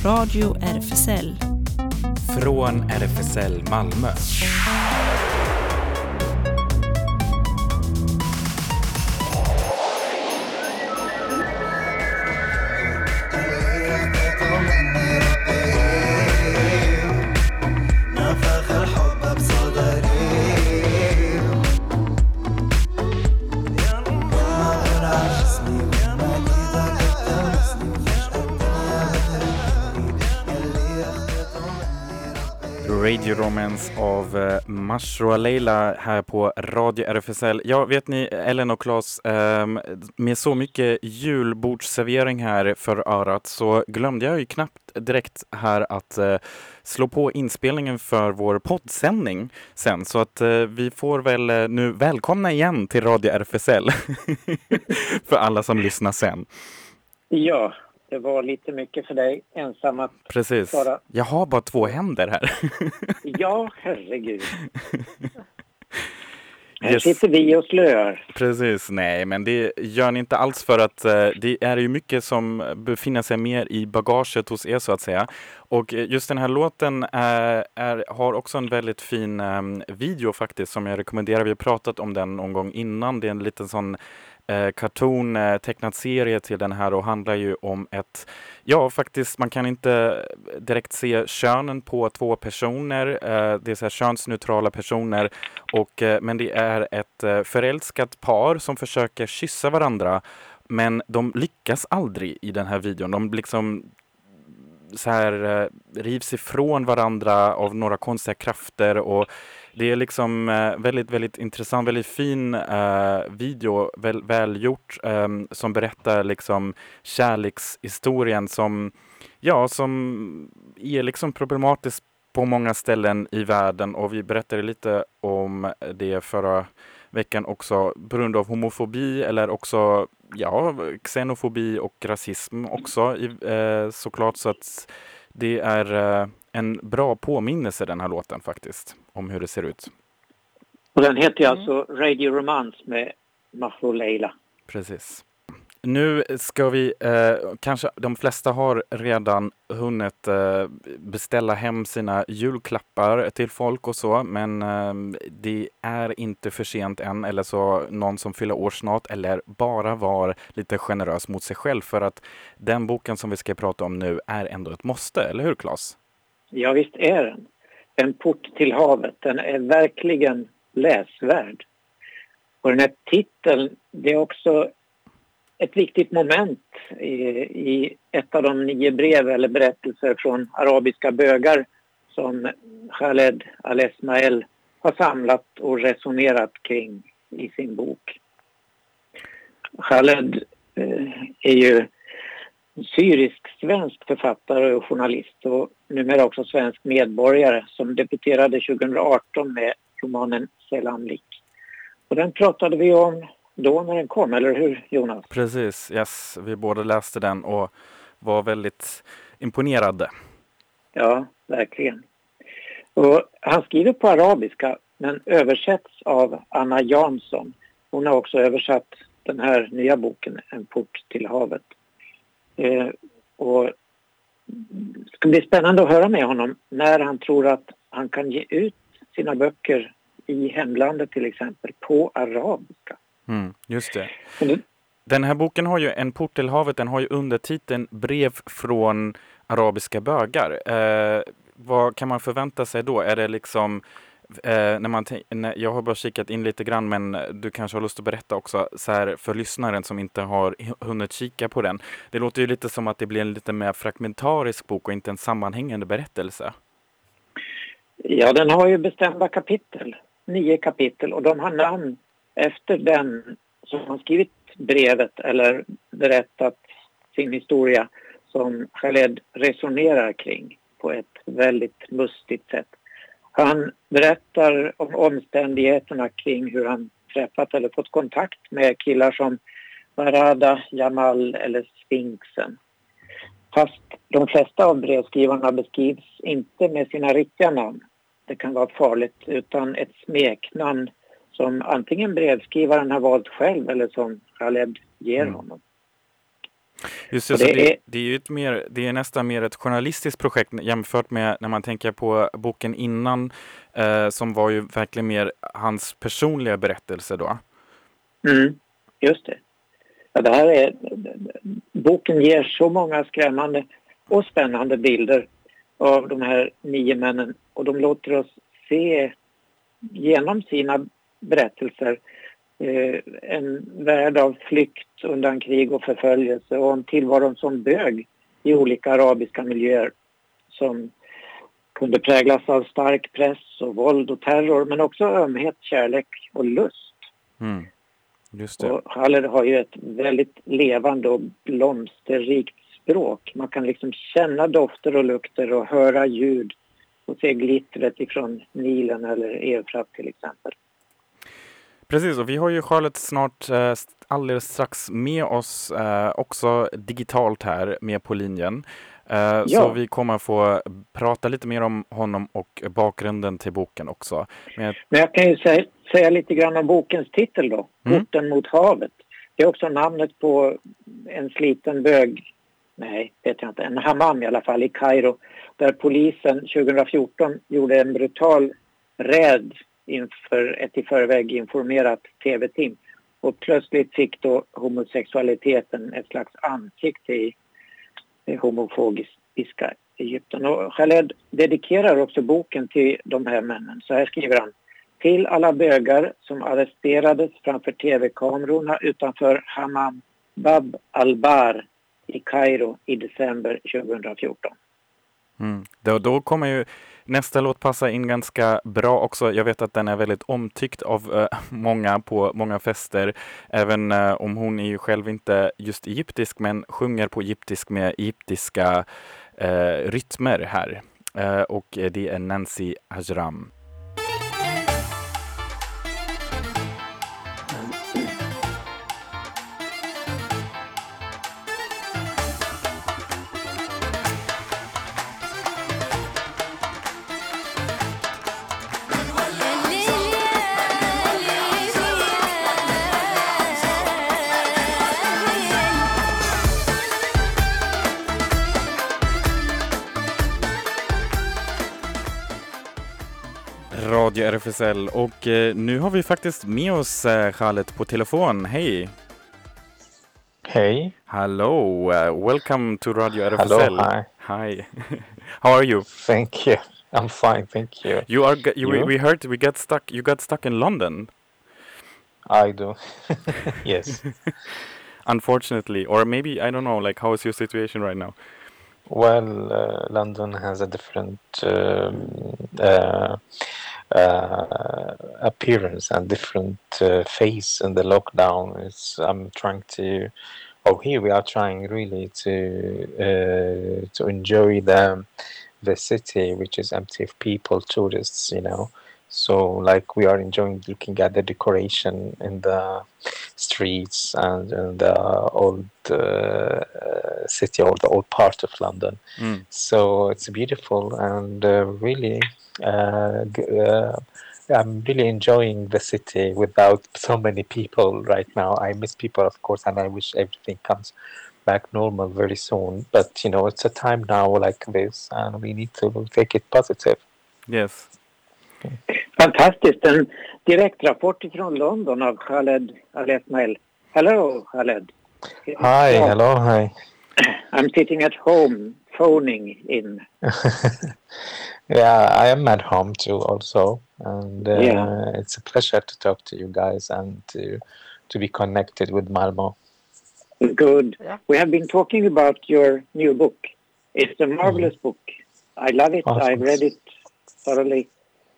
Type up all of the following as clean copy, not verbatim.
Radio RFSL. Från RFSL Malmö. Radio Romance av Mashroa Leila här på Radio RFSL. Ja, vet ni, Ellen och Claes, med så mycket julbordsservering här för örat så glömde jag ju knappt direkt här att slå på inspelningen för vår poddsändning sen. Så att vi får väl nu välkomna igen till Radio RFSL för alla som lyssnar sen. Ja. Det var lite mycket för dig, ensam att... Precis. Bara... Jag har bara 2 händer här. Ja, herregud. Här sitter vi och slöar. Precis, nej, men det gör ni inte alls för att det är ju mycket som befinner sig mer i bagaget hos er så att säga. Och just den här låten har också en väldigt fin video faktiskt som jag rekommenderar. Vi har pratat om den någon gång innan. Det är en liten sån karton tecknad serie till den här och handlar ju om faktiskt man kan inte direkt se könen på 2 personer, det är så här könsneutrala personer men det är ett förälskat par som försöker kyssa varandra men de lyckas aldrig i den här videon, de liksom så här rivs ifrån varandra av några konstiga krafter och det är liksom väldigt, väldigt intressant, väldigt fin video, välgjort som berättar liksom kärlekshistorien som är liksom problematisk på många ställen i världen och vi berättade lite om det förra veckan också på grund av homofobi eller också xenofobi och rasism också såklart så att det är en bra påminnelse den här låten faktiskt om hur det ser ut. Och den heter alltså Radio Romance med Mashroa Leila. Precis. Nu ska vi, kanske de flesta har redan hunnit beställa hem sina julklappar till folk och så, men det är inte för sent än eller så någon som fyller år snart eller bara var lite generös mot sig själv för att den boken som vi ska prata om nu är ändå ett måste, eller hur Claes? Ja visst är den. En port till havet, den är verkligen läsvärd. Och den här titeln, det är också ett viktigt moment i ett av de 9 brev eller berättelser från arabiska bögar som Khaled Al-Esmael har samlat och resonerat kring i sin bok. Khaled är ju syrisk-svensk författare och journalist och numera också svensk medborgare som debuterade 2018 med romanen Selamlik. Och den pratade vi om då när den kom, eller hur Jonas? Precis, yes. Vi båda läste den och var väldigt imponerade. Ja, verkligen. Och han skriver på arabiska men översätts av Anna Jansson. Hon har också översatt den här nya boken, En port till havet. Och det ska bli spännande att höra med honom när han tror att han kan ge ut sina böcker i hemlandet till exempel på arabiska. Just det. Den här boken har ju En port till havet, den har ju undertiteln Brev från arabiska bögar. Vad kan man förvänta sig då? Är det liksom jag har bara kikat in lite grann men du kanske har lust att berätta också så här för lyssnaren som inte har hunnit kika på den. Det låter ju lite som att det blir en lite mer fragmentarisk bok och inte en sammanhängande berättelse. Ja, den har ju bestämda kapitel, 9 kapitel och de har namn efter den som har skrivit brevet eller berättat sin historia som Khaled resonerar kring på ett väldigt mustigt sätt. Han berättar om omständigheterna kring hur han träffat eller fått kontakt med killar som Barada, Jamal eller Sphinxen. Fast de flesta av brevskrivarna beskrivs inte med sina riktiga namn. Det kan vara farligt utan ett smeknamn som antingen brevskrivaren har valt själv eller som Khaled ger honom. Just Och det, så det är ju det är nästan mer ett journalistiskt projekt jämfört med när man tänker på boken innan, som var ju verkligen mer hans personliga berättelse då. Just det. Ja, boken ger så många skrämmande och spännande bilder av de här 9 männen, och de låter oss se genom sina berättelser en värld av flykt undan krig och förföljelse, och en tillvaro som bög i olika arabiska miljöer som kunde präglas av stark press och våld och terror, men också ömhet, kärlek och lust. Just det. Och Khaled har ju ett väldigt levande och blomsterrikt språk. Man kan liksom känna dofter och lukter och höra ljud och se glittret ifrån Nilen eller Eufrat till exempel. Precis, och vi har ju Charlotte snart alldeles strax med oss också digitalt här med på linjen. Så vi kommer få prata lite mer om honom och bakgrunden till boken också. Men jag kan ju säga lite grann om bokens titel då. Porten mot havet. Det är också namnet på en sliten bög, en hammam i alla fall, i Kairo. Där polisen 2014 gjorde en brutal räd inför ett i förväg informerat tv-team. Och plötsligt fick då homosexualiteten ett slags ansikte i homofobiska Egypten. Och Khaled dedikerar också boken till de här männen. Så här skriver han: till alla bögar som arresterades framför tv-kamerorna utanför Hammam Bab al-Bar i Kairo i december 2014. Då kommer ju nästa låt passa in ganska bra också. Jag vet att den är väldigt omtyckt av många på många fester. Även om hon är ju själv inte just egyptisk, men sjunger på egyptisk med egyptiska rytmer här. Och det är Nancy Ajram. Radio RFSL, och nu har vi faktiskt med oss Khaled på telefon. Hej! Hey. Hello, welcome to Radio RFSL. Hello, hi. Hi. How are you? Thank you. I'm fine, thank you. We heard you got stuck in London. I do. Yes. Unfortunately, or maybe, I don't know, like, how is your situation right now? Well, London has a different appearance and different phase in the lockdown. Here we are trying really to enjoy the city, which is empty of people, tourists, you know. So, like, we are enjoying looking at the decoration in the streets and the old city, or the old part of London. So it's beautiful, and really, I'm really enjoying the city without so many people right now. I miss people, of course, and I wish everything comes back normal very soon. But, you know, it's a time now like this, and we need to take it positive. Yes. Fantastiskt. En direktrapport från London av Khaled Al-Esmail. Hello, Khaled. Hi, hello, hi. I'm sitting at home, phoning in. Yeah, I am at home too also. And it's a pleasure to talk to you guys and to be connected with Malmo. Good. Yeah. We have been talking about your new book. It's a marvelous book. I love it. Awesome. I've read it thoroughly.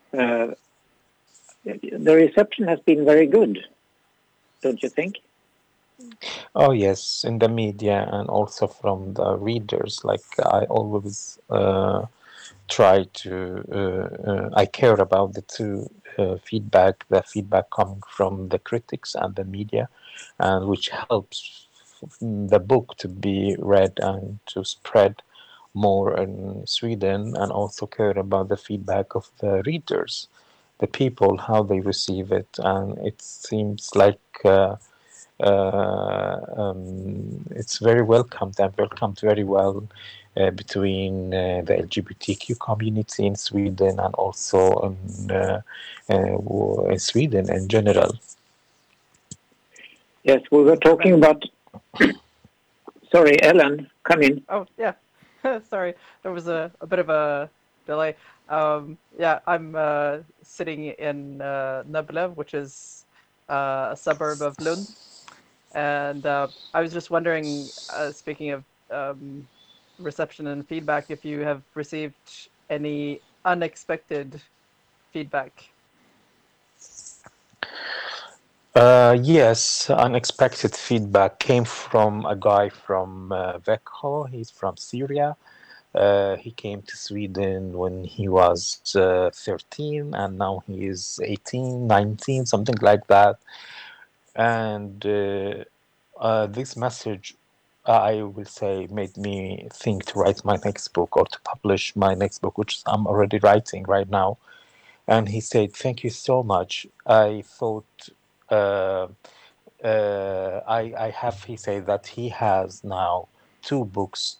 The reception has been very good, don't you think? Oh yes, in the media and also from the readers. Like, I always try to I care about the two feedback, the feedback coming from the critics and the media, and which helps the book to be read and to spread more in Sweden, and also care about the feedback of the readers, the people, how they receive it. And it seems like it's very welcomed and welcomed very well between the LGBTQ community in Sweden and also in Sweden in general. Yes, we were talking about. Sorry, Ellen, come in. Oh, yeah. Sorry, there was a bit of a delay. Yeah, I'm sitting in Nöbbele, which is a suburb of Lund. And I was just wondering, speaking of reception and feedback, if you have received any unexpected feedback. Yes, unexpected feedback came from a guy from Växjö. He's from Syria. He came to Sweden when he was 13 and now he is 18, 19, something like that. And this message, I will say, made me think to write my next book or to publish my next book, which I'm already writing right now. And he said, "Thank you so much. I thought uh, I have." He said that he has now two books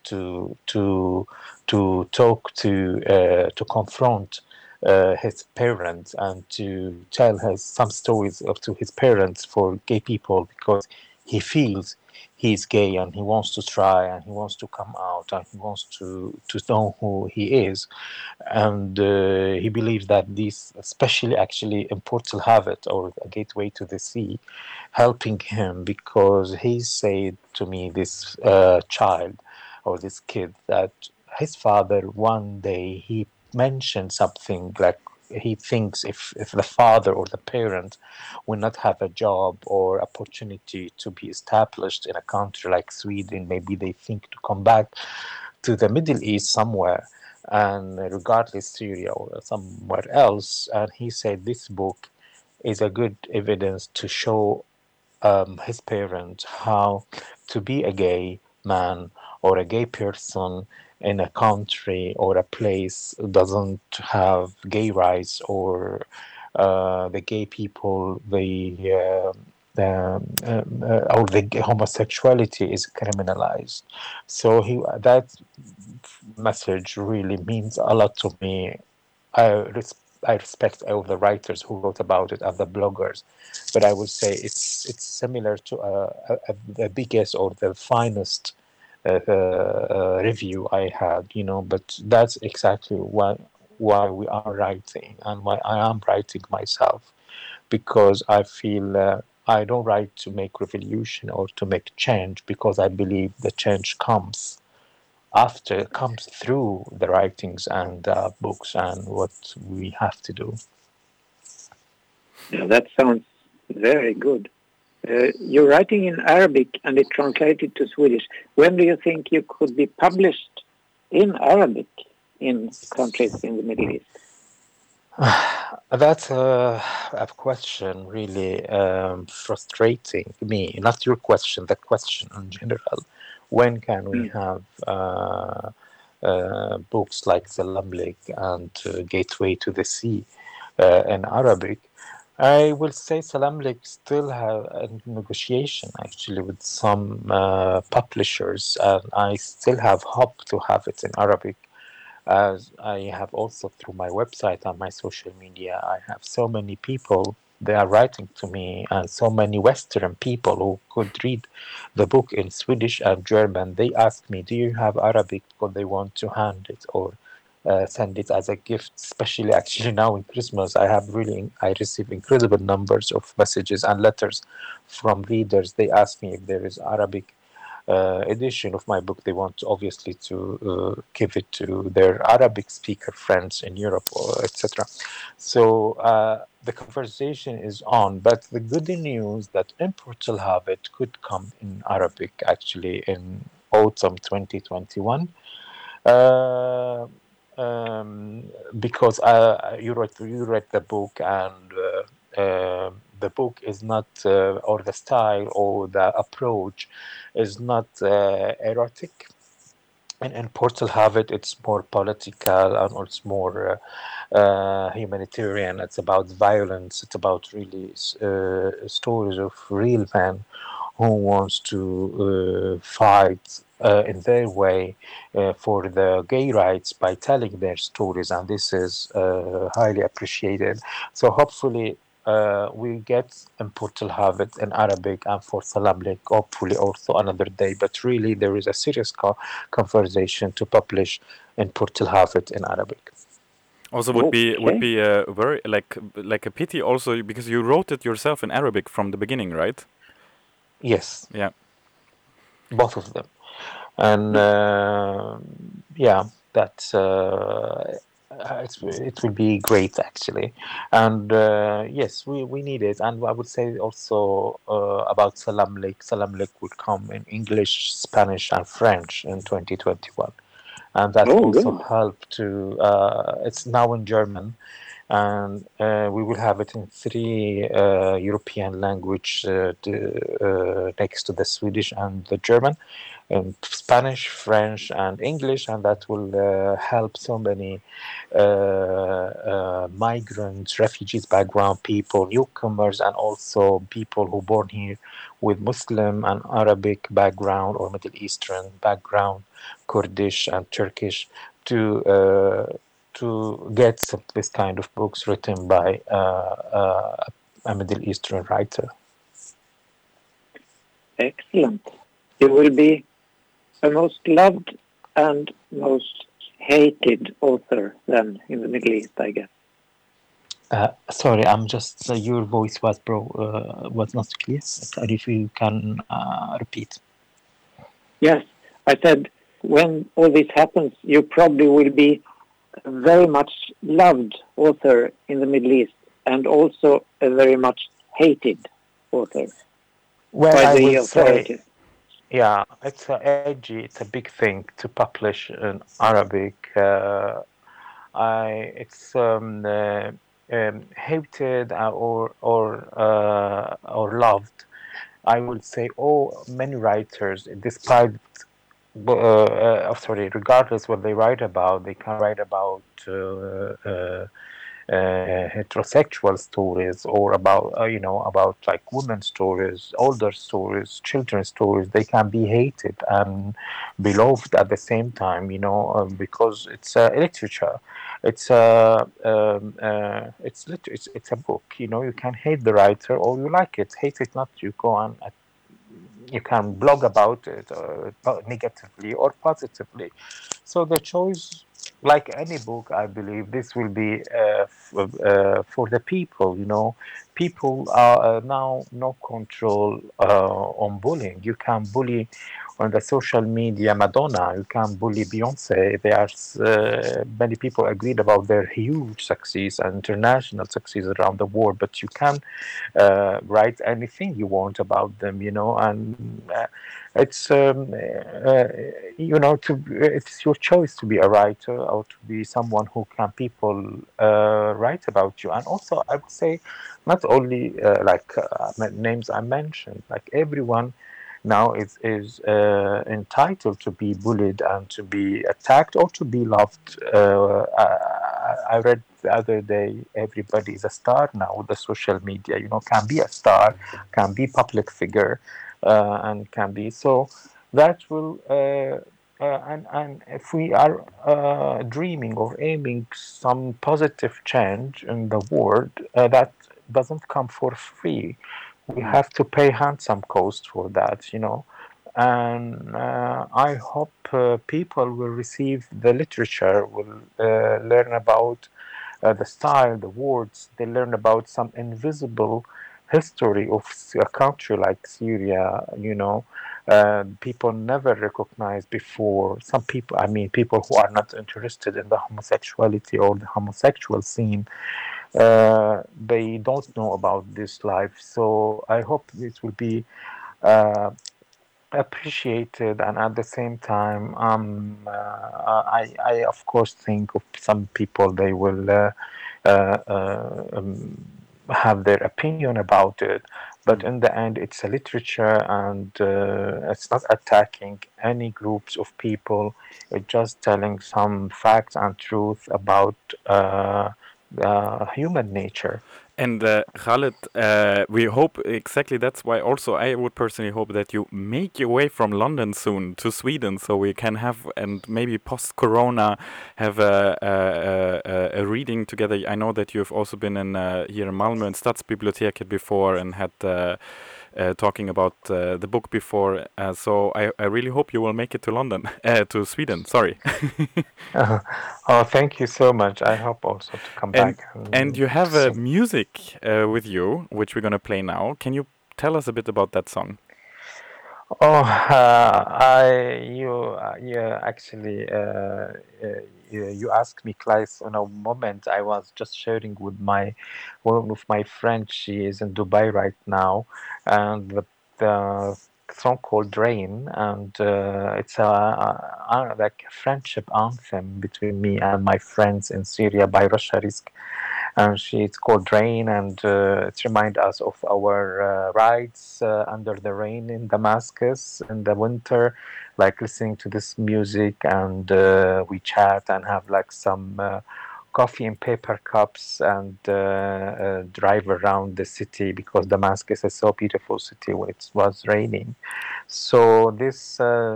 to talk to confront his parents and to tell some stories to his parents for gay people, because he feels he's gay and he wants to try and he wants to come out and he wants to know who he is. And he believes that this, especially actually in Portal Habit or A Gateway to the Sea, helping him, because he said to me, this child or this kid, that his father one day he mentioned something like he thinks if the father or the parent will not have a job or opportunity to be established in a country like Sweden, maybe they think to come back to the Middle East somewhere, and regardless Syria or somewhere else. And he said this book is a good evidence to show his parents how to be a gay man or a gay person in a country or a place doesn't have gay rights, or the gay people, or the homosexuality is criminalized. So that message really means a lot to me. I, I respect all the writers who wrote about it and the bloggers, but I would say it's similar to the biggest or the finest review I had, But that's exactly why we are writing and why I am writing myself, because I feel I don't write to make revolution or to make change, because I believe the change comes through the writings and books and what we have to do. Yeah, that sounds very good. You're writing in Arabic and it translated to Swedish. When do you think you could be published in Arabic in countries in the Middle East? That's a question really frustrating me. Not your question, the question in general. When can we have books like Zalamlik and Gateway to the Sea in Arabic? I will say Salamlik still have a negotiation actually with some publishers, and I still have hope to have it in Arabic, as I have also through my website and my social media. I have so many people, they are writing to me, and so many Western people who could read the book in Swedish and German. They ask me, do you have Arabic? Because they want to hand it or send it as a gift, especially actually now in Christmas. I receive incredible numbers of messages and letters from readers. They ask me if there is Arabic edition of my book. They want obviously to give it to their Arabic speaker friends in Europe, or etc. So the conversation is on, but the good news that Portal Habit could come in Arabic actually in autumn 2021. Uh, because you read the book, and the book is not or the style or the approach is not erotic, and in Portal Habit it's more political and it's more humanitarian. It's about violence. It's about really stories of real men who wants to fight in their way for the gay rights by telling their stories, and this is highly appreciated. So hopefully we get in Port Alhavet in Arabic, and for Salam Lake hopefully also another day. But really, there is a serious conversation to publish in Port Alhavet in Arabic. Also, Okay. would be very like a pity also because you wrote it yourself in Arabic from the beginning, right? Yes, Yeah. both of them. And yeah, that's it will be great actually. And yes, we need it. And I would say also about Salam Lake. Salam Lake will come in English, Spanish, and French in 2021, and that Oh, also good. help to. It's now in German, and we will have it in 3 European language next to the Swedish and the German, Spanish, French, and English, and that will help so many migrants, refugees background people, newcomers, and also people who born here with Muslim and Arabic background or Middle Eastern background, Kurdish and Turkish, to get this kind of books written by a Middle Eastern writer. Excellent. You will be the most loved and most hated author then in the Middle East, I guess. Sorry, I'm just your voice was was not clear. Sorry, if you can repeat. Yes, I said when all this happens, you probably will be a very much loved author in the Middle East and also a very much hated author Well, by I the will say, authorities. yeah, it's edgy. It's a big thing to publish in Arabic. It's hated or loved. I would say, many writers, despite sorry, regardless what they write about, they can write about heterosexual stories or about about like women's stories, older stories, children's stories. They can be hated and beloved at the same time, because it's literature. It's a book. You can hate the writer or you like it. Hate it not. You go on. You can blog about it negatively or positively. So the choice, like any book, I believe this will be for the people. People are now no control on bullying. You can bully on the social media Madonna. You can bully Beyonce. There are many people agreed about their huge success and international success around the world, but you can write anything you want about them, and it's it's your choice to be a writer or to be someone who can people write about you. And also, I would say, not only names I mentioned, like everyone now entitled to be bullied and to be attacked or to be loved. I read the other day, everybody is a star now with the social media. Can be a star, can be public figure, and can be so. That will and if we are dreaming or aiming some positive change in the world, that doesn't come for free. We have to pay handsome cost for that. And I hope people will receive the literature, will learn about the style, the words. They learn about some invisible history of a country like Syria. People never recognized before. Some people, I mean, people who are not interested in the homosexuality or the homosexual scene, they don't know about this life. So I hope it will be uh, appreciated, and at the same time, I of course think of some people, they will uh, uh, um, have their opinion about it, but in the end it's a literature, and it's not attacking any groups of people. It's just telling some facts and truth about human nature. And Khaled, we hope exactly that's why also I would personally hope that you make your way from London soon to Sweden so we can have, and maybe post-corona, have a reading together. I know that you've also been in here in Malmö and Stadsbiblioteket before and had talking about the book before. So I really hope you will make it to London, to Sweden, sorry. Oh, thank you so much. I hope also to come back. And you have sing. music with you, which we're going to play now. Can you tell us a bit about that song? Oh, you actually, you asked me, Klaus, on a moment. I was just sharing with one of my friends. She is in Dubai right now, and the song called Rain, and it's like a friendship anthem between me and my friends in Syria by Rasha Rizk. And it's called Rain, and it reminds us of our rides under the rain in Damascus in the winter, like listening to this music, and we chat and have like some coffee in paper cups and drive around the city because Damascus is so beautiful city when it was raining. So this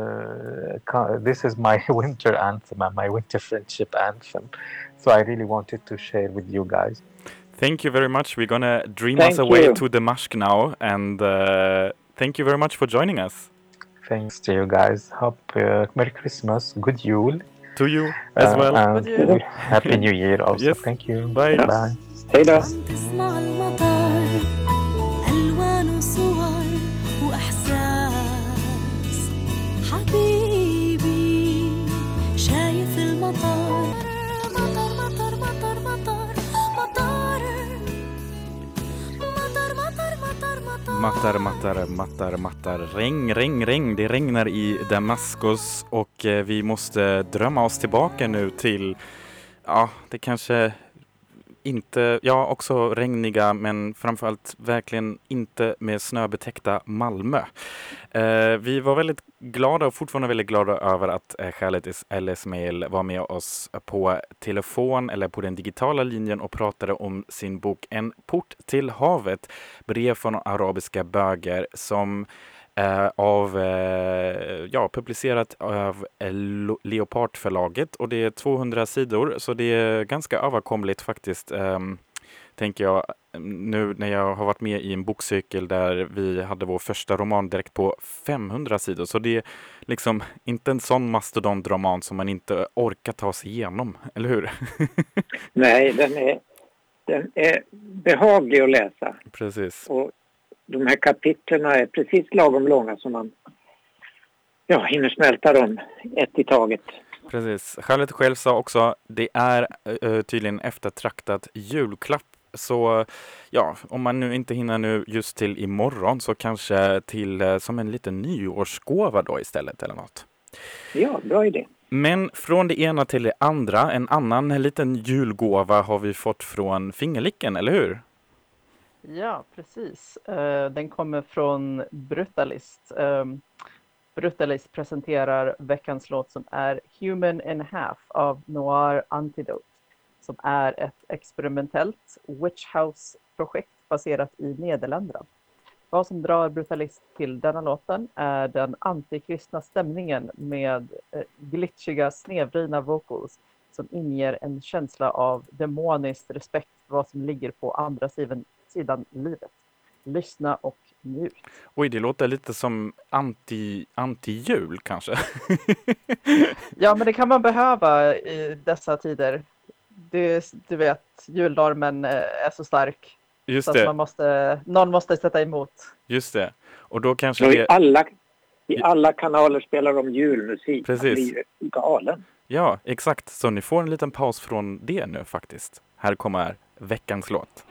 is my winter anthem and my winter friendship anthem. So I really wanted to share with you guys. Thank you very much. We're gonna dream us away to Damascus now, and thank you very much for joining us. Thanks to you guys. Hope Merry Christmas, good Yule. To you as well. And Happy New Year also. Yes. Thank you. Bye. Bye. Hej då. تسمع المطر ألوان وصور وإحساس حبيبي شايف المطر مطر مطر مطر مطر مطر مطر مطر مطر Mattar. Regn. Det regnar i Damaskus och vi måste drömma oss tillbaka nu till, ja, det kanske inte, ja, också regniga, men framförallt verkligen inte med snöbetäckta Malmö. Vi var väldigt glada och fortfarande väldigt glada över att Khaled El Esmail var med oss på telefon eller på den digitala linjen och pratade om sin bok En port till havet, brev från arabiska böger, som publicerat av Leopardförlaget, och det är 200 sidor, så det är ganska överkomligt faktiskt, tänker jag, nu när jag har varit med i en bokcykel där vi hade vår första roman direkt på 500 sidor, så det är liksom inte en sån mastodontroman som man inte orkar ta sig igenom, eller hur? Nej, den är behaglig att läsa. Precis. Och de här kapitlerna är precis lagom långa som man hinner smälta dem ett i taget. Precis. Khaled själv sa också, det är tydligen eftertraktat julklapp. Så ja, om man nu inte hinner nu just till imorgon, så kanske till som en liten nyårsgåva då istället eller något. Ja, bra idé. Men från det ena till det andra, en annan liten julgåva har vi fått från Fingerlicken, eller hur? Ja, precis. Den kommer från Brutalist. Brutalist presenterar veckans låt som är Human in Half av Noir Antidote, som är ett experimentellt Witch House-projekt baserat i Nederländerna. Vad som drar Brutalist till denna låten är den antikristna stämningen med glitchiga, snedvridna vocals som inger en känsla av demonisk respekt för vad som ligger på andra sidan livet. Lyssna och njut. Oj, det låter lite som anti-jul kanske. Ja, men det kan man behöva i dessa tider. Du vet, julnormen är så stark. Just så det. Att någon måste sätta emot. Just det. Och då kanske det... I alla kanaler spelar de julmusik. Precis. Man blir galen. Ja, exakt. Så ni får en liten paus från det nu faktiskt. Här kommer veckans låt.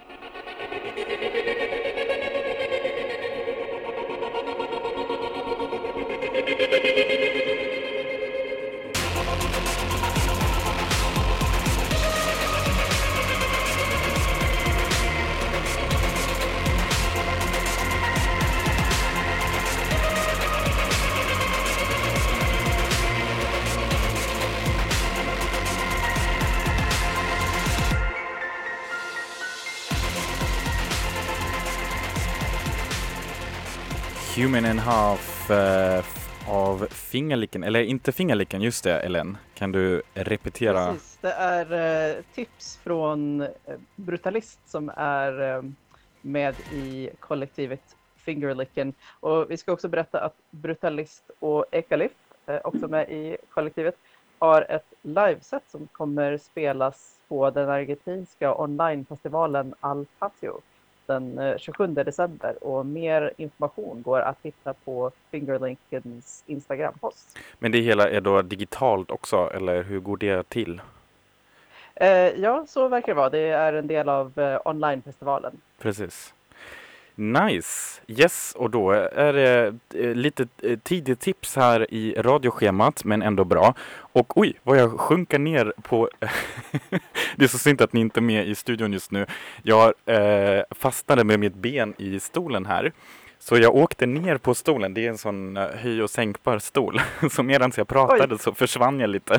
Human and Half av Fingerlicken, eller inte Fingerlicken, just det Ellen. Kan du repetera? Precis, det är tips från Brutalist som är med i kollektivet Fingerlicken. Och vi ska också berätta att Brutalist och Ekalif, också med i kollektivet, har ett liveset som kommer spelas på den argentinska onlinefestivalen Al Patio den 27 december. Och mer information går att hitta på Fingerlickens Instagram-post. Men det hela är då digitalt också, eller hur går det till? Ja, så verkar det vara. Det är en del av onlinefestivalen. Precis. Nice. Yes, och då är det lite tidigt tips här i radioschemat, men ändå bra. Och oj, vad jag sjunker ner på... Det är så synd att ni inte är med i studion just nu. Jag fastnade med mitt ben i stolen här. Så jag åkte ner på stolen. Det är en sån höj- och sänkbar stol. Så medan jag pratade så försvann jag lite.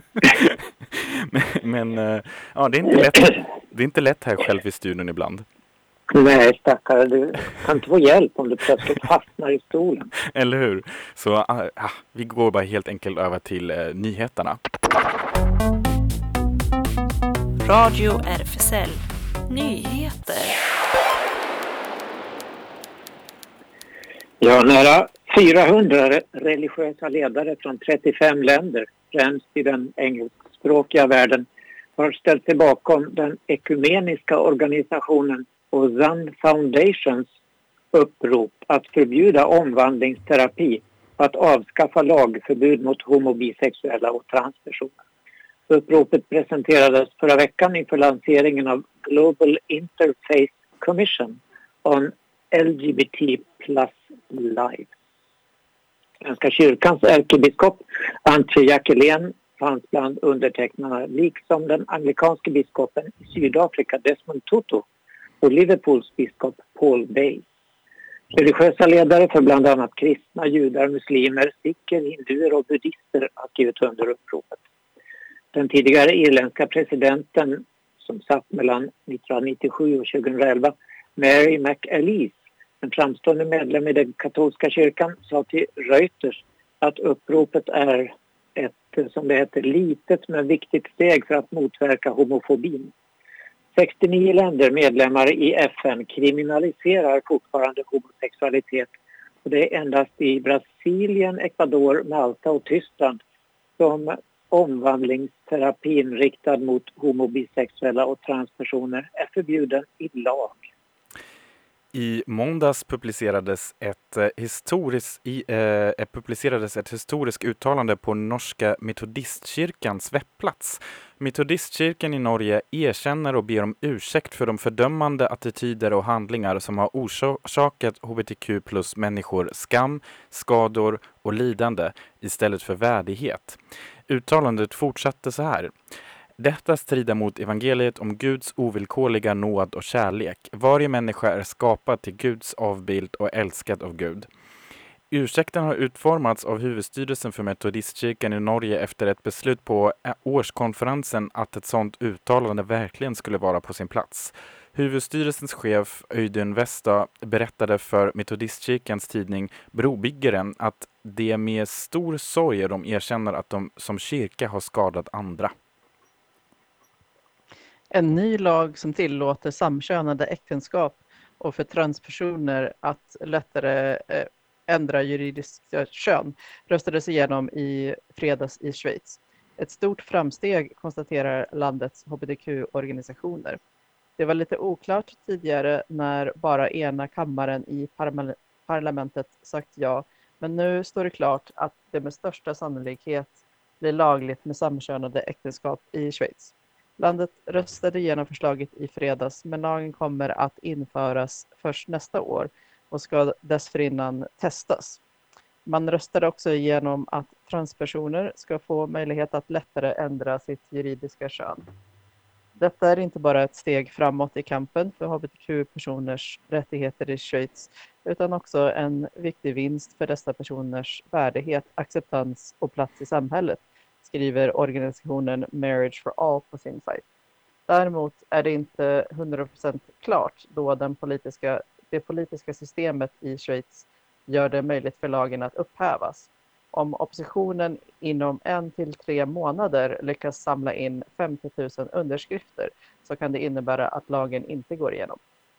men ja, det är inte lätt. Det är inte lätt här själv i studion ibland. Nej, stackare. Du kan inte få hjälp om du plötsligt fastnar i stolen. Eller hur? Så vi går bara helt enkelt över till nyheterna. Radio RFSL. Nyheter. Ja, nära 400 religiösa ledare från 35 länder, främst i den engelskspråkiga världen, har ställt sig bakom den ekumeniska organisationen Ozan Foundations upprop att förbjuda omvandlingsterapi och att avskaffa lagförbud mot homo-, bisexuella och transpersoner. Uppropet presenterades förra veckan inför lanseringen av Global Interfaith Commission on LGBT plus life. Svenska kyrkans ärkebiskop Antje Jackelén fanns bland undertecknarna, liksom den anglikanske biskopen i Sydafrika Desmond Tutu och Liverpools biskop Paul Bay. Religiösa ledare för bland annat kristna, judar, muslimer, sikher, hinduer och buddhister har skrivit under uppropet. Den tidigare irländska presidenten som satt mellan 1997 och 2011, Mary McAleese, en framstående medlem i den katolska kyrkan, sa till Reuters att uppropet är ett, som det heter, litet men viktigt steg för att motverka homofobin. 69 länder medlemmar i FN kriminaliserar fortfarande homosexualitet, och det är endast i Brasilien, Ecuador, Malta och Tyskland som omvandlingsterapin riktad mot homo-, bisexuella och transpersoner är förbjuden i lag. I måndags publicerades ett historiskt uttalande på norska metodistkyrkans webbplats. Metodistkyrkan i Norge erkänner och ber om ursäkt för de fördömande attityder och handlingar som har orsakat hbtq plus människor skam, skador och lidande istället för värdighet. Uttalandet fortsatte så här. Detta strider mot evangeliet om Guds ovillkorliga nåd och kärlek. Varje människa är skapad till Guds avbild och älskad av Gud. Ursäkten har utformats av huvudstyrelsen för metodistkyrkan i Norge efter ett beslut på årskonferensen att ett sådant uttalande verkligen skulle vara på sin plats. Huvudstyrelsens chef Øyden Westad berättade för metodistkyrkans tidning Brobyggeren att det med stor sorg de erkänner att de som kyrka har skadat andra. En ny lag som tillåter samkönade äktenskap och för transpersoner att lättare ändra juridiska kön röstades igenom i fredags i Schweiz. Ett stort framsteg, konstaterar landets hbtq-organisationer. Det var lite oklart tidigare när bara ena kammaren i parlamentet sagt ja, men nu står det klart att det med största sannolikhet blir lagligt med samkönade äktenskap i Schweiz. Landet röstade igenom förslaget i fredags, men lagen kommer att införas först nästa år och ska dessförinnan testas. Man röstade också igenom att transpersoner ska få möjlighet att lättare ändra sitt juridiska kön. Detta är inte bara ett steg framåt i kampen för hbtq-personers rättigheter i Schweiz, utan också en viktig vinst för dessa personers värdighet, acceptans och plats i samhället, skriver organisationen Marriage for All på sin sajt. Däremot är det inte 100% klart då det politiska systemet i Schweiz gör det möjligt för lagen att upphävas. Om oppositionen inom 1 till 3 månader lyckas samla in 50 000 underskrifter så kan det innebära att lagen inte går igenom.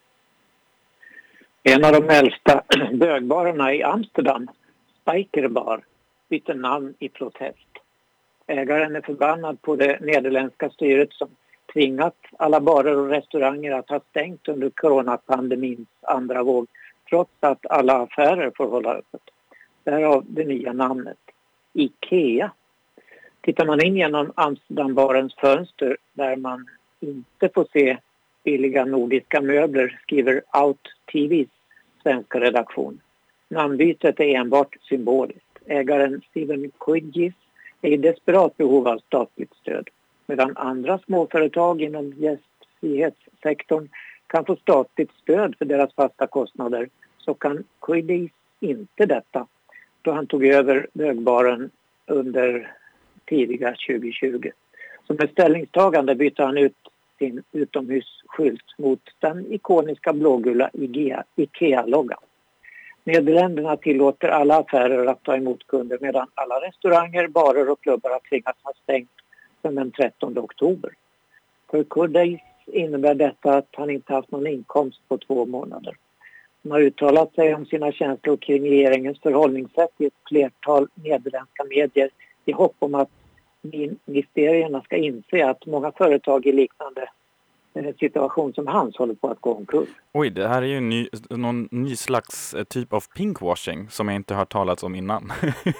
En av de äldsta bögbarerna i Amsterdam, Spijkerbar, bytte namn i protest. Ägaren är förbannad på det nederländska styret som tvingat alla barer och restauranger att ha stängt under coronapandemins andra våg, trots att alla affärer får hålla öppet. Därav det nya namnet, IKEA. Tittar man in genom Amsterdambarens fönster där man inte får se billiga nordiska möbler, skriver Out TVs svenska redaktion. Namnbytet är enbart symboliskt. Ägaren Steven Quidgis är i desperat behov av statligt stöd, medan andra småföretag inom gästfrihetssektorn kan få statligt stöd för deras fasta kostnader, så kan Quidgis inte detta då han tog över bögbaren under tidiga 2020. Som ett ställningstagande bytte han ut sin utomhusskylt mot den ikoniska blågula IKEA-loggan. Nederländerna tillåter alla affärer att ta emot kunder medan alla restauranger, barer och klubbar har tvingats ha stängt sedan den 13 oktober. För Quidgis innebär detta att han inte haft någon inkomst på 2 månader. Han har uttalat sig om sina känslor kring regeringens förhållningssätt i ett flertal nederländska medier i hopp om att ministerierna ska inse att många företag i liknande situation som hans håller på att gå omkull. Oj, det här är ju någon ny slags typ av pinkwashing som jag inte har talat om innan.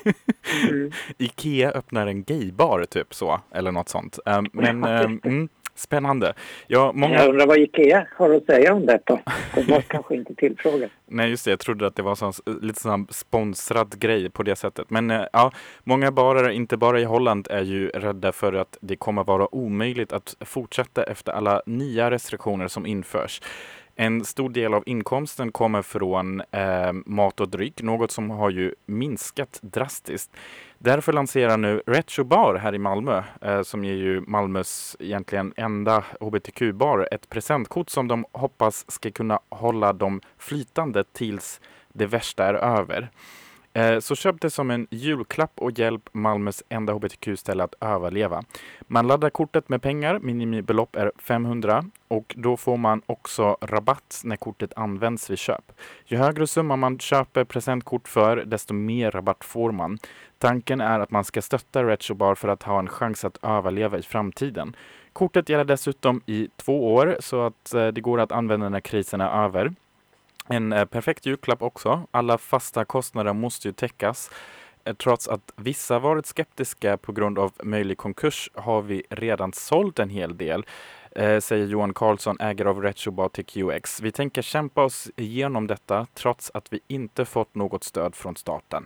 IKEA öppnar en gaybar typ så, eller något sånt. Spännande. Ja, Jag undrar vad IKEA har att säga om detta. Det var kanske inte tillfrågat. Nej, just det. Jag trodde att det var lite sån sponsrad grej på det sättet. Men många barer, inte bara i Holland, är ju rädda för att det kommer vara omöjligt att fortsätta efter alla nya restriktioner som införs. En stor del av inkomsten kommer från mat och dryck, något som har ju minskat drastiskt. Därför lanserar nu Retro Bar här i Malmö, som är ju Malmös egentligen enda hbtq-bar, ett presentkort som de hoppas ska kunna hålla dem flytande tills det värsta är över. Så köp det som en julklapp och hjälp Malmös enda hbtq-ställe att överleva. Man laddar kortet med pengar, minimibelopp är 500 och då får man också rabatt när kortet används vid köp. Ju högre summa man köper presentkort för, desto mer rabatt får man. Tanken är att man ska stötta Retro Bar för att ha en chans att överleva i framtiden. Kortet gäller dessutom i 2 år så att det går att använda när krisen är över. En perfekt julklapp också. Alla fasta kostnader måste ju täckas. Trots att vissa varit skeptiska på grund av möjlig konkurs har vi redan sålt en hel del, säger Johan Karlsson, ägare av Retrobar till QX. Vi tänker kämpa oss igenom detta trots att vi inte fått något stöd från staten.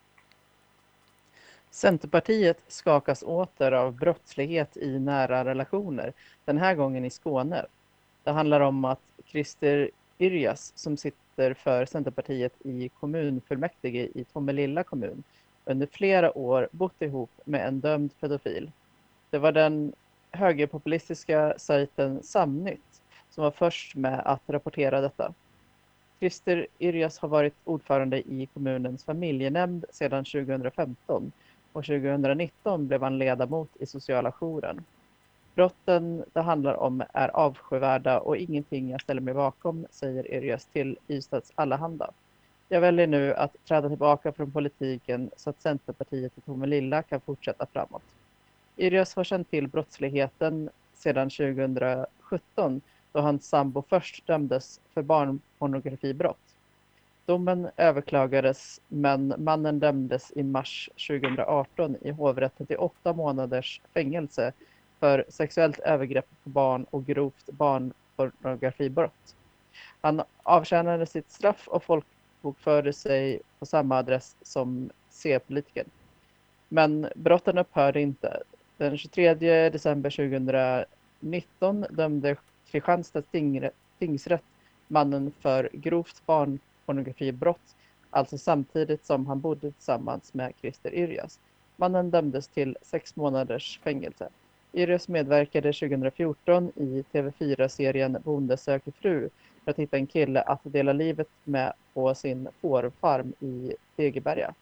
Centerpartiet skakas åter av brottslighet i nära relationer, den här gången i Skåne. Det handlar om att Christer Yrjas, som sitter för Centerpartiet i kommunfullmäktige i Tomelilla kommun, under flera år bott ihop med en dömd pedofil. Det var den högerpopulistiska sajten Samnytt som var först med att rapportera detta. Christer Yrjas har varit ordförande i kommunens familjenämnd sedan 2015 och 2019 blev han ledamot i sociala jouren. Brotten det handlar om är avskyvärda och ingenting jag ställer mig bakom, säger Yrjas till Ystads Allehanda. Jag väljer nu att träda tillbaka från politiken så att Centerpartiet i Tomelilla kan fortsätta framåt. Yrjas har känt till brottsligheten sedan 2017 då hans sambo först dömdes för barnpornografibrott. Domen överklagades men mannen dömdes i mars 2018 i hovrätten till 8 månaders fängelse för sexuellt övergrepp på barn och grovt barnpornografibrott. Han avtjänade sitt straff och folkbokförde sig på samma adress som C-politiker. Men brotten upphörde inte. Den 23 december 2019 dömde Kristianstads tingsrätt mannen för grovt barnpornografibrott, alltså samtidigt som han bodde tillsammans med Christer Yrjas. Mannen dömdes till 6 månaders fängelse. Yrjas medverkade 2014 i TV4-serien Bonde söker fru för att hitta en kille att dela livet med på sin fårfarm i Degeberga.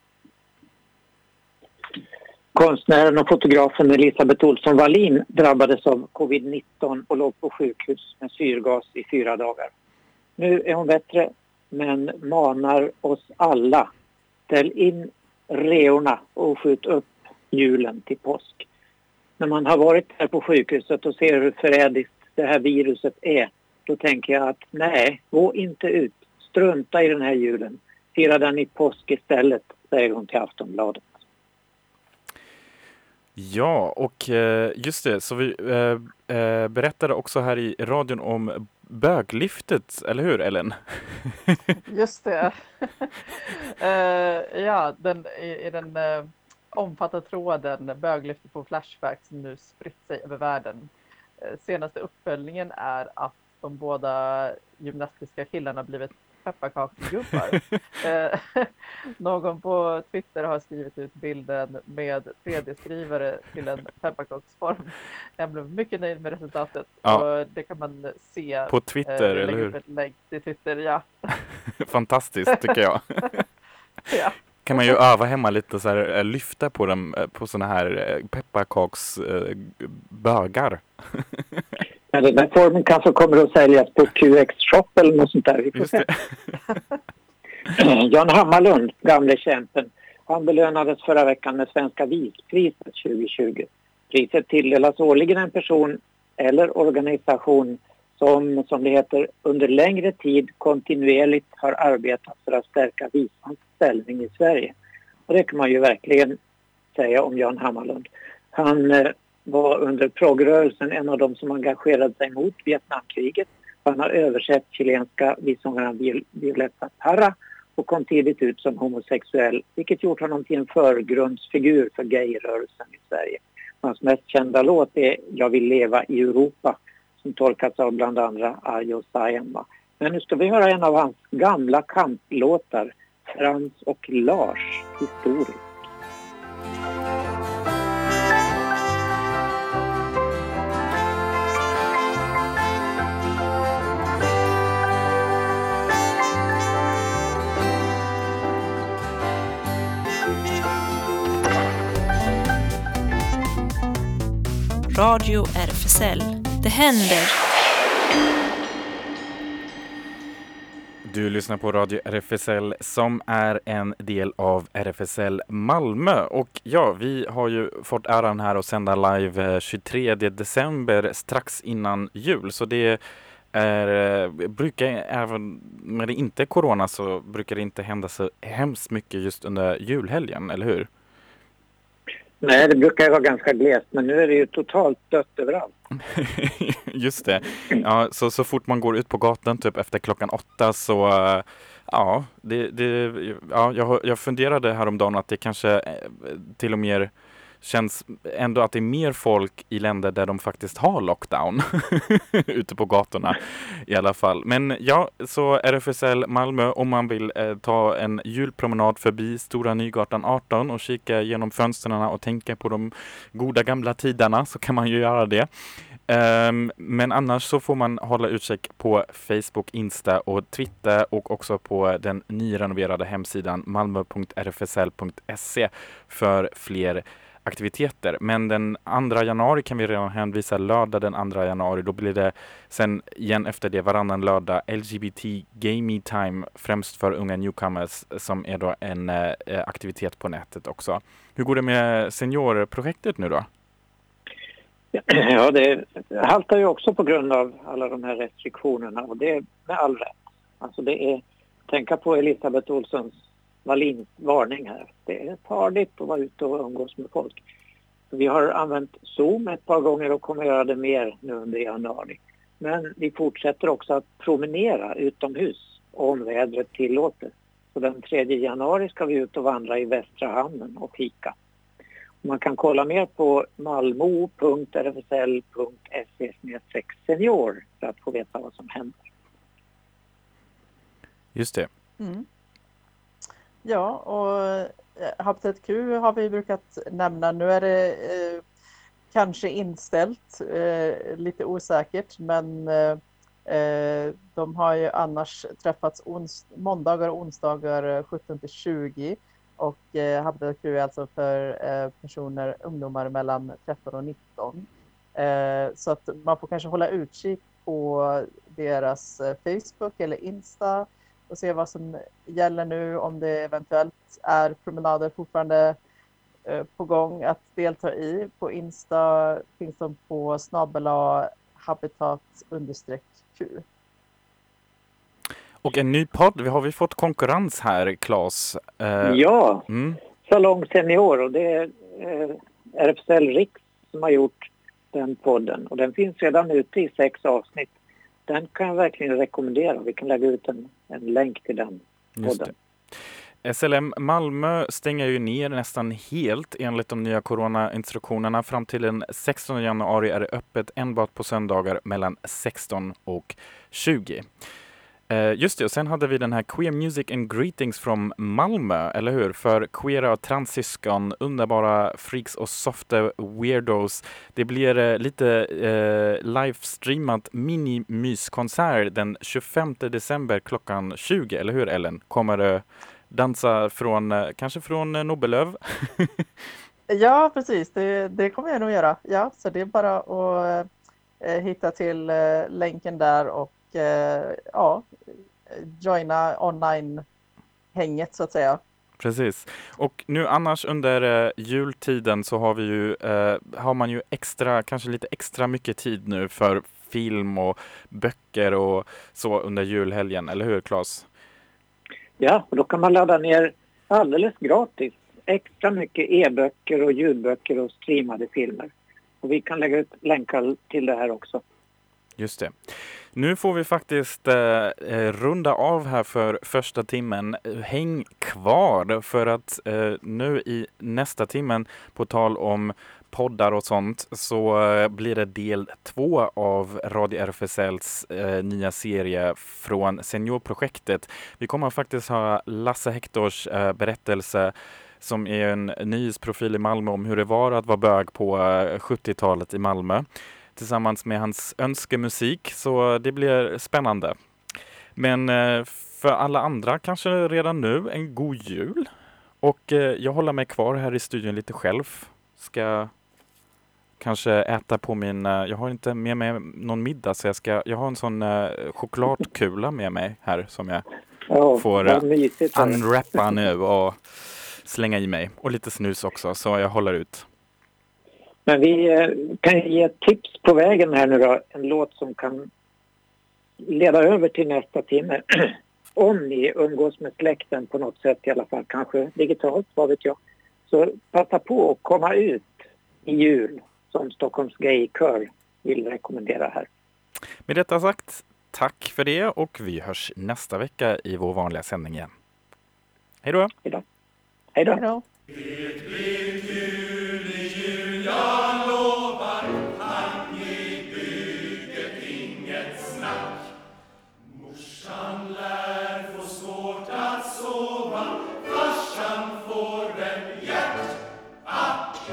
Konstnären och fotografen Elisabeth Olsson Wallin drabbades av covid-19 och låg på sjukhus med syrgas i 4 dagar. Nu är hon bättre, men manar oss alla: ställ in reorna och skjut upp julen till påsk. När man har varit här på sjukhuset och ser hur förrädiskt det här viruset är, då tänker jag att nej, gå inte ut. Strunta i den här julen. Fira den i påsk istället, säger hon till Aftonbladet. Ja, och just det, så vi berättade också här i radion om böglyftet, eller hur Ellen? Just det. Ja, i den omfattande tråden böglyftet på Flashback som nu spritt sig över världen. Senaste uppföljningen är att de båda gymnastiska killarna blivit pepparkaksgubbar. Någon på Twitter har skrivit ut bilden med 3D-skrivare till en pepparkaksform. Jag blev mycket nöjd med resultatet. Ja. Och det kan man se På Twitter, eller hur? Lägg till Twitter, ja. Fantastiskt, tycker jag. Ja. Kan man ju öva hemma lite så här, lyfta på dem på såna här pepparkaksbögar. Men den här formen kanske kommer att säljas på QX Shop eller något sånt där. Vi får se. Jan Hammarlund, gamle kämpen, han belönades förra veckan med Svenska Vispriset 2020. Priset tilldelas årligen en person eller organisation som det heter, under längre tid kontinuerligt har arbetat för att stärka visans ställning i Sverige. Och det kan man ju verkligen säga om Jan Hammarlund. Han var under progrörelsen en av de som engagerade sig mot Vietnamkriget. Han har översatt chilenska vissångaren Violeta Parra och kom tidigt ut som homosexuell, vilket gjort honom till en förgrundsfigur för gayrörelsen i Sverige. Hans mest kända låt är Jag vill leva i Europa, som tolkas av bland andra Arjo Saijonmaa. Men nu ska vi höra en av hans gamla kamplåtar, Frans och Lars, historiskt. Radio RFSL. Det händer. Du lyssnar på Radio RFSL som är en del av RFSL Malmö. Och ja, vi har ju fått äran här att sända live 23 december strax innan jul. Så det brukar, även när det inte är corona, så brukar det inte hända så hemskt mycket just under julhelgen, eller hur? Nej, det brukar ju vara ganska glest, men nu är det ju totalt dött överallt. Just det. Ja, så fort man går ut på gatan typ efter 8 så ja, jag funderade häromdagen att det kanske till och med känns ändå att det är mer folk i länder där de faktiskt har lockdown ute på gatorna i alla fall. Men ja, så RFSL Malmö, om man vill ta en julpromenad förbi Stora Nygatan 18 och kika genom fönstren och tänka på de goda gamla tiderna, så kan man ju göra det. Men annars så får man hålla utkik på Facebook, Insta och Twitter och också på den nyrenoverade hemsidan malmo.rfsl.se för fler aktiviteter. Men den 2 januari kan vi redan hänvisa, lördag den 2 januari. Då blir det sen igen efter det varannan lördag LGBT Gaming Time, främst för unga newcomers, som är då en aktivitet på nätet också. Hur går det med seniorprojektet nu då? Ja, det haltar ju också på grund av alla de här restriktionerna, och det är med all rätt. Alltså det är, tänka på Elisabeth Olssons Wallins varning här. Det är farligt att vara ute och umgås med folk. Vi har använt Zoom ett par gånger och kommer göra det mer nu under januari. Men vi fortsätter också att promenera utomhus om vädret tillåter. Så den 3 januari ska vi ut och vandra i Västra hamnen och fika. Man kan kolla mer på malmo.rfsl.se/senior för att få veta vad som händer. Just det. Mm. Ja, och Habitat Q har vi brukat nämna. Nu är det kanske inställt, lite osäkert, men De har ju annars träffats måndagar och onsdagar 17-20 och Habitat Crew är alltså för ungdomar mellan 13 och 19. Så att man får kanske hålla utkik på deras Facebook eller Insta och se vad som gäller nu, om det eventuellt är promenader fortfarande på gång att delta i. På Insta finns de på @habitat_Q. Och en ny podd, har vi fått konkurrens här, Claes? Ja, Salong Senior, och det är RFSL Riks som har gjort den podden. Och den finns redan ute i 6 avsnitt. Den kan jag verkligen rekommendera. Vi kan lägga ut en länk till den podden. SLM Malmö stänger ju ner nästan helt enligt de nya coronainstruktionerna. Fram till den 16 januari är det öppet enbart på söndagar mellan 16 och 20. Just det, och sen hade vi den här Queer Music and Greetings från Malmö, eller hur? För queera och transsyskon, underbara freaks och softa weirdos. Det blir lite livestreamat mini-myskonsert den 25 december klockan 20, eller hur Ellen? Kommer du dansa kanske från Nobelöv? Ja, precis. Det kommer jag nog göra. Ja, så det är bara att hitta till länken där och joina online-hänget så att säga. Precis. Och nu annars under jultiden så har man ju kanske lite extra mycket tid nu för film och böcker och så under julhelgen, eller hur Claes? Ja, och då kan man ladda ner alldeles gratis extra mycket e-böcker och ljudböcker och streamade filmer. Och vi kan lägga ut länkar till det här också. Just det. Nu får vi faktiskt runda av här för första timmen. Häng kvar för att nu i nästa timmen, på tal om poddar och sånt, så blir det del 2 av Radio RFSLs nya serie från Seniorprojektet. Vi kommer faktiskt ha Lasse Hektors berättelse som är en nyhetsprofil i Malmö om hur det var att vara bög på 70-talet i Malmö, tillsammans med hans önskemusik, så det blir spännande. Men för alla andra kanske redan nu en god jul. Och jag håller mig kvar här i studion lite själv. Ska kanske äta på jag har inte med mig någon middag, så jag har en sån chokladkula med mig här som jag får unwrappa nu och slänga i mig. Och lite snus också, så jag håller ut. Men vi kan ge ett tips på vägen här nu då. En låt som kan leda över till nästa timme. Om ni umgås med släkten på något sätt i alla fall, kanske digitalt, vad vet jag. Så passa på att komma ut i jul, som Stockholms Gaykör vill rekommendera här. Med detta sagt, tack för det och vi hörs nästa vecka i vår vanliga sändning igen. Hej då! Hej då! Hej då! Hej då. Jag lovar att ni bygger inget snack. Morsan lär få svårt att sova. Farsan får en hjärtattack.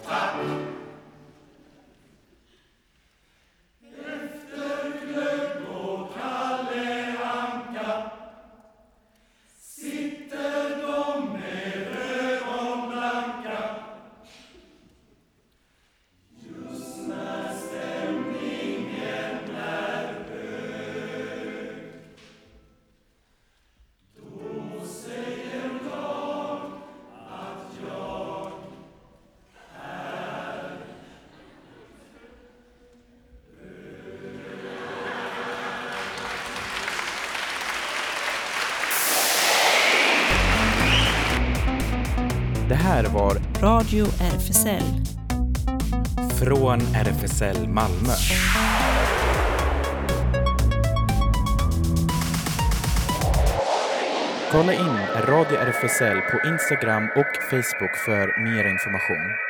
Efter glögg och Kalle Anka sitter de med ögonblanka. Just när stämningen är hög, då säger jag att jag är Det här var Radio RFSL. från RFSL Malmö. Kolla in Radio RFSL på Instagram och Facebook för mer information.